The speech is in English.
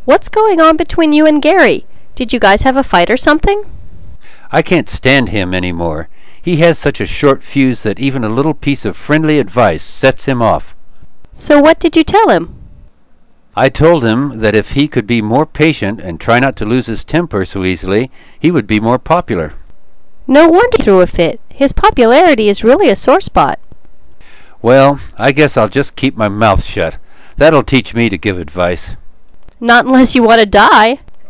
What's going on between you and Gary? Did you guys have a fight or something? I can't stand him any more. He has such a short fuse that even a little piece of friendly advice sets him off. So what did you tell him? I told him that if he could be more patient and try not to lose his temper so easily, he would be more popular. No wonder he threw a fit. His popularity is really a sore spot. Well, I guess I'll just keep my mouth shut. That'll teach me to give advice. Not unless you want to die.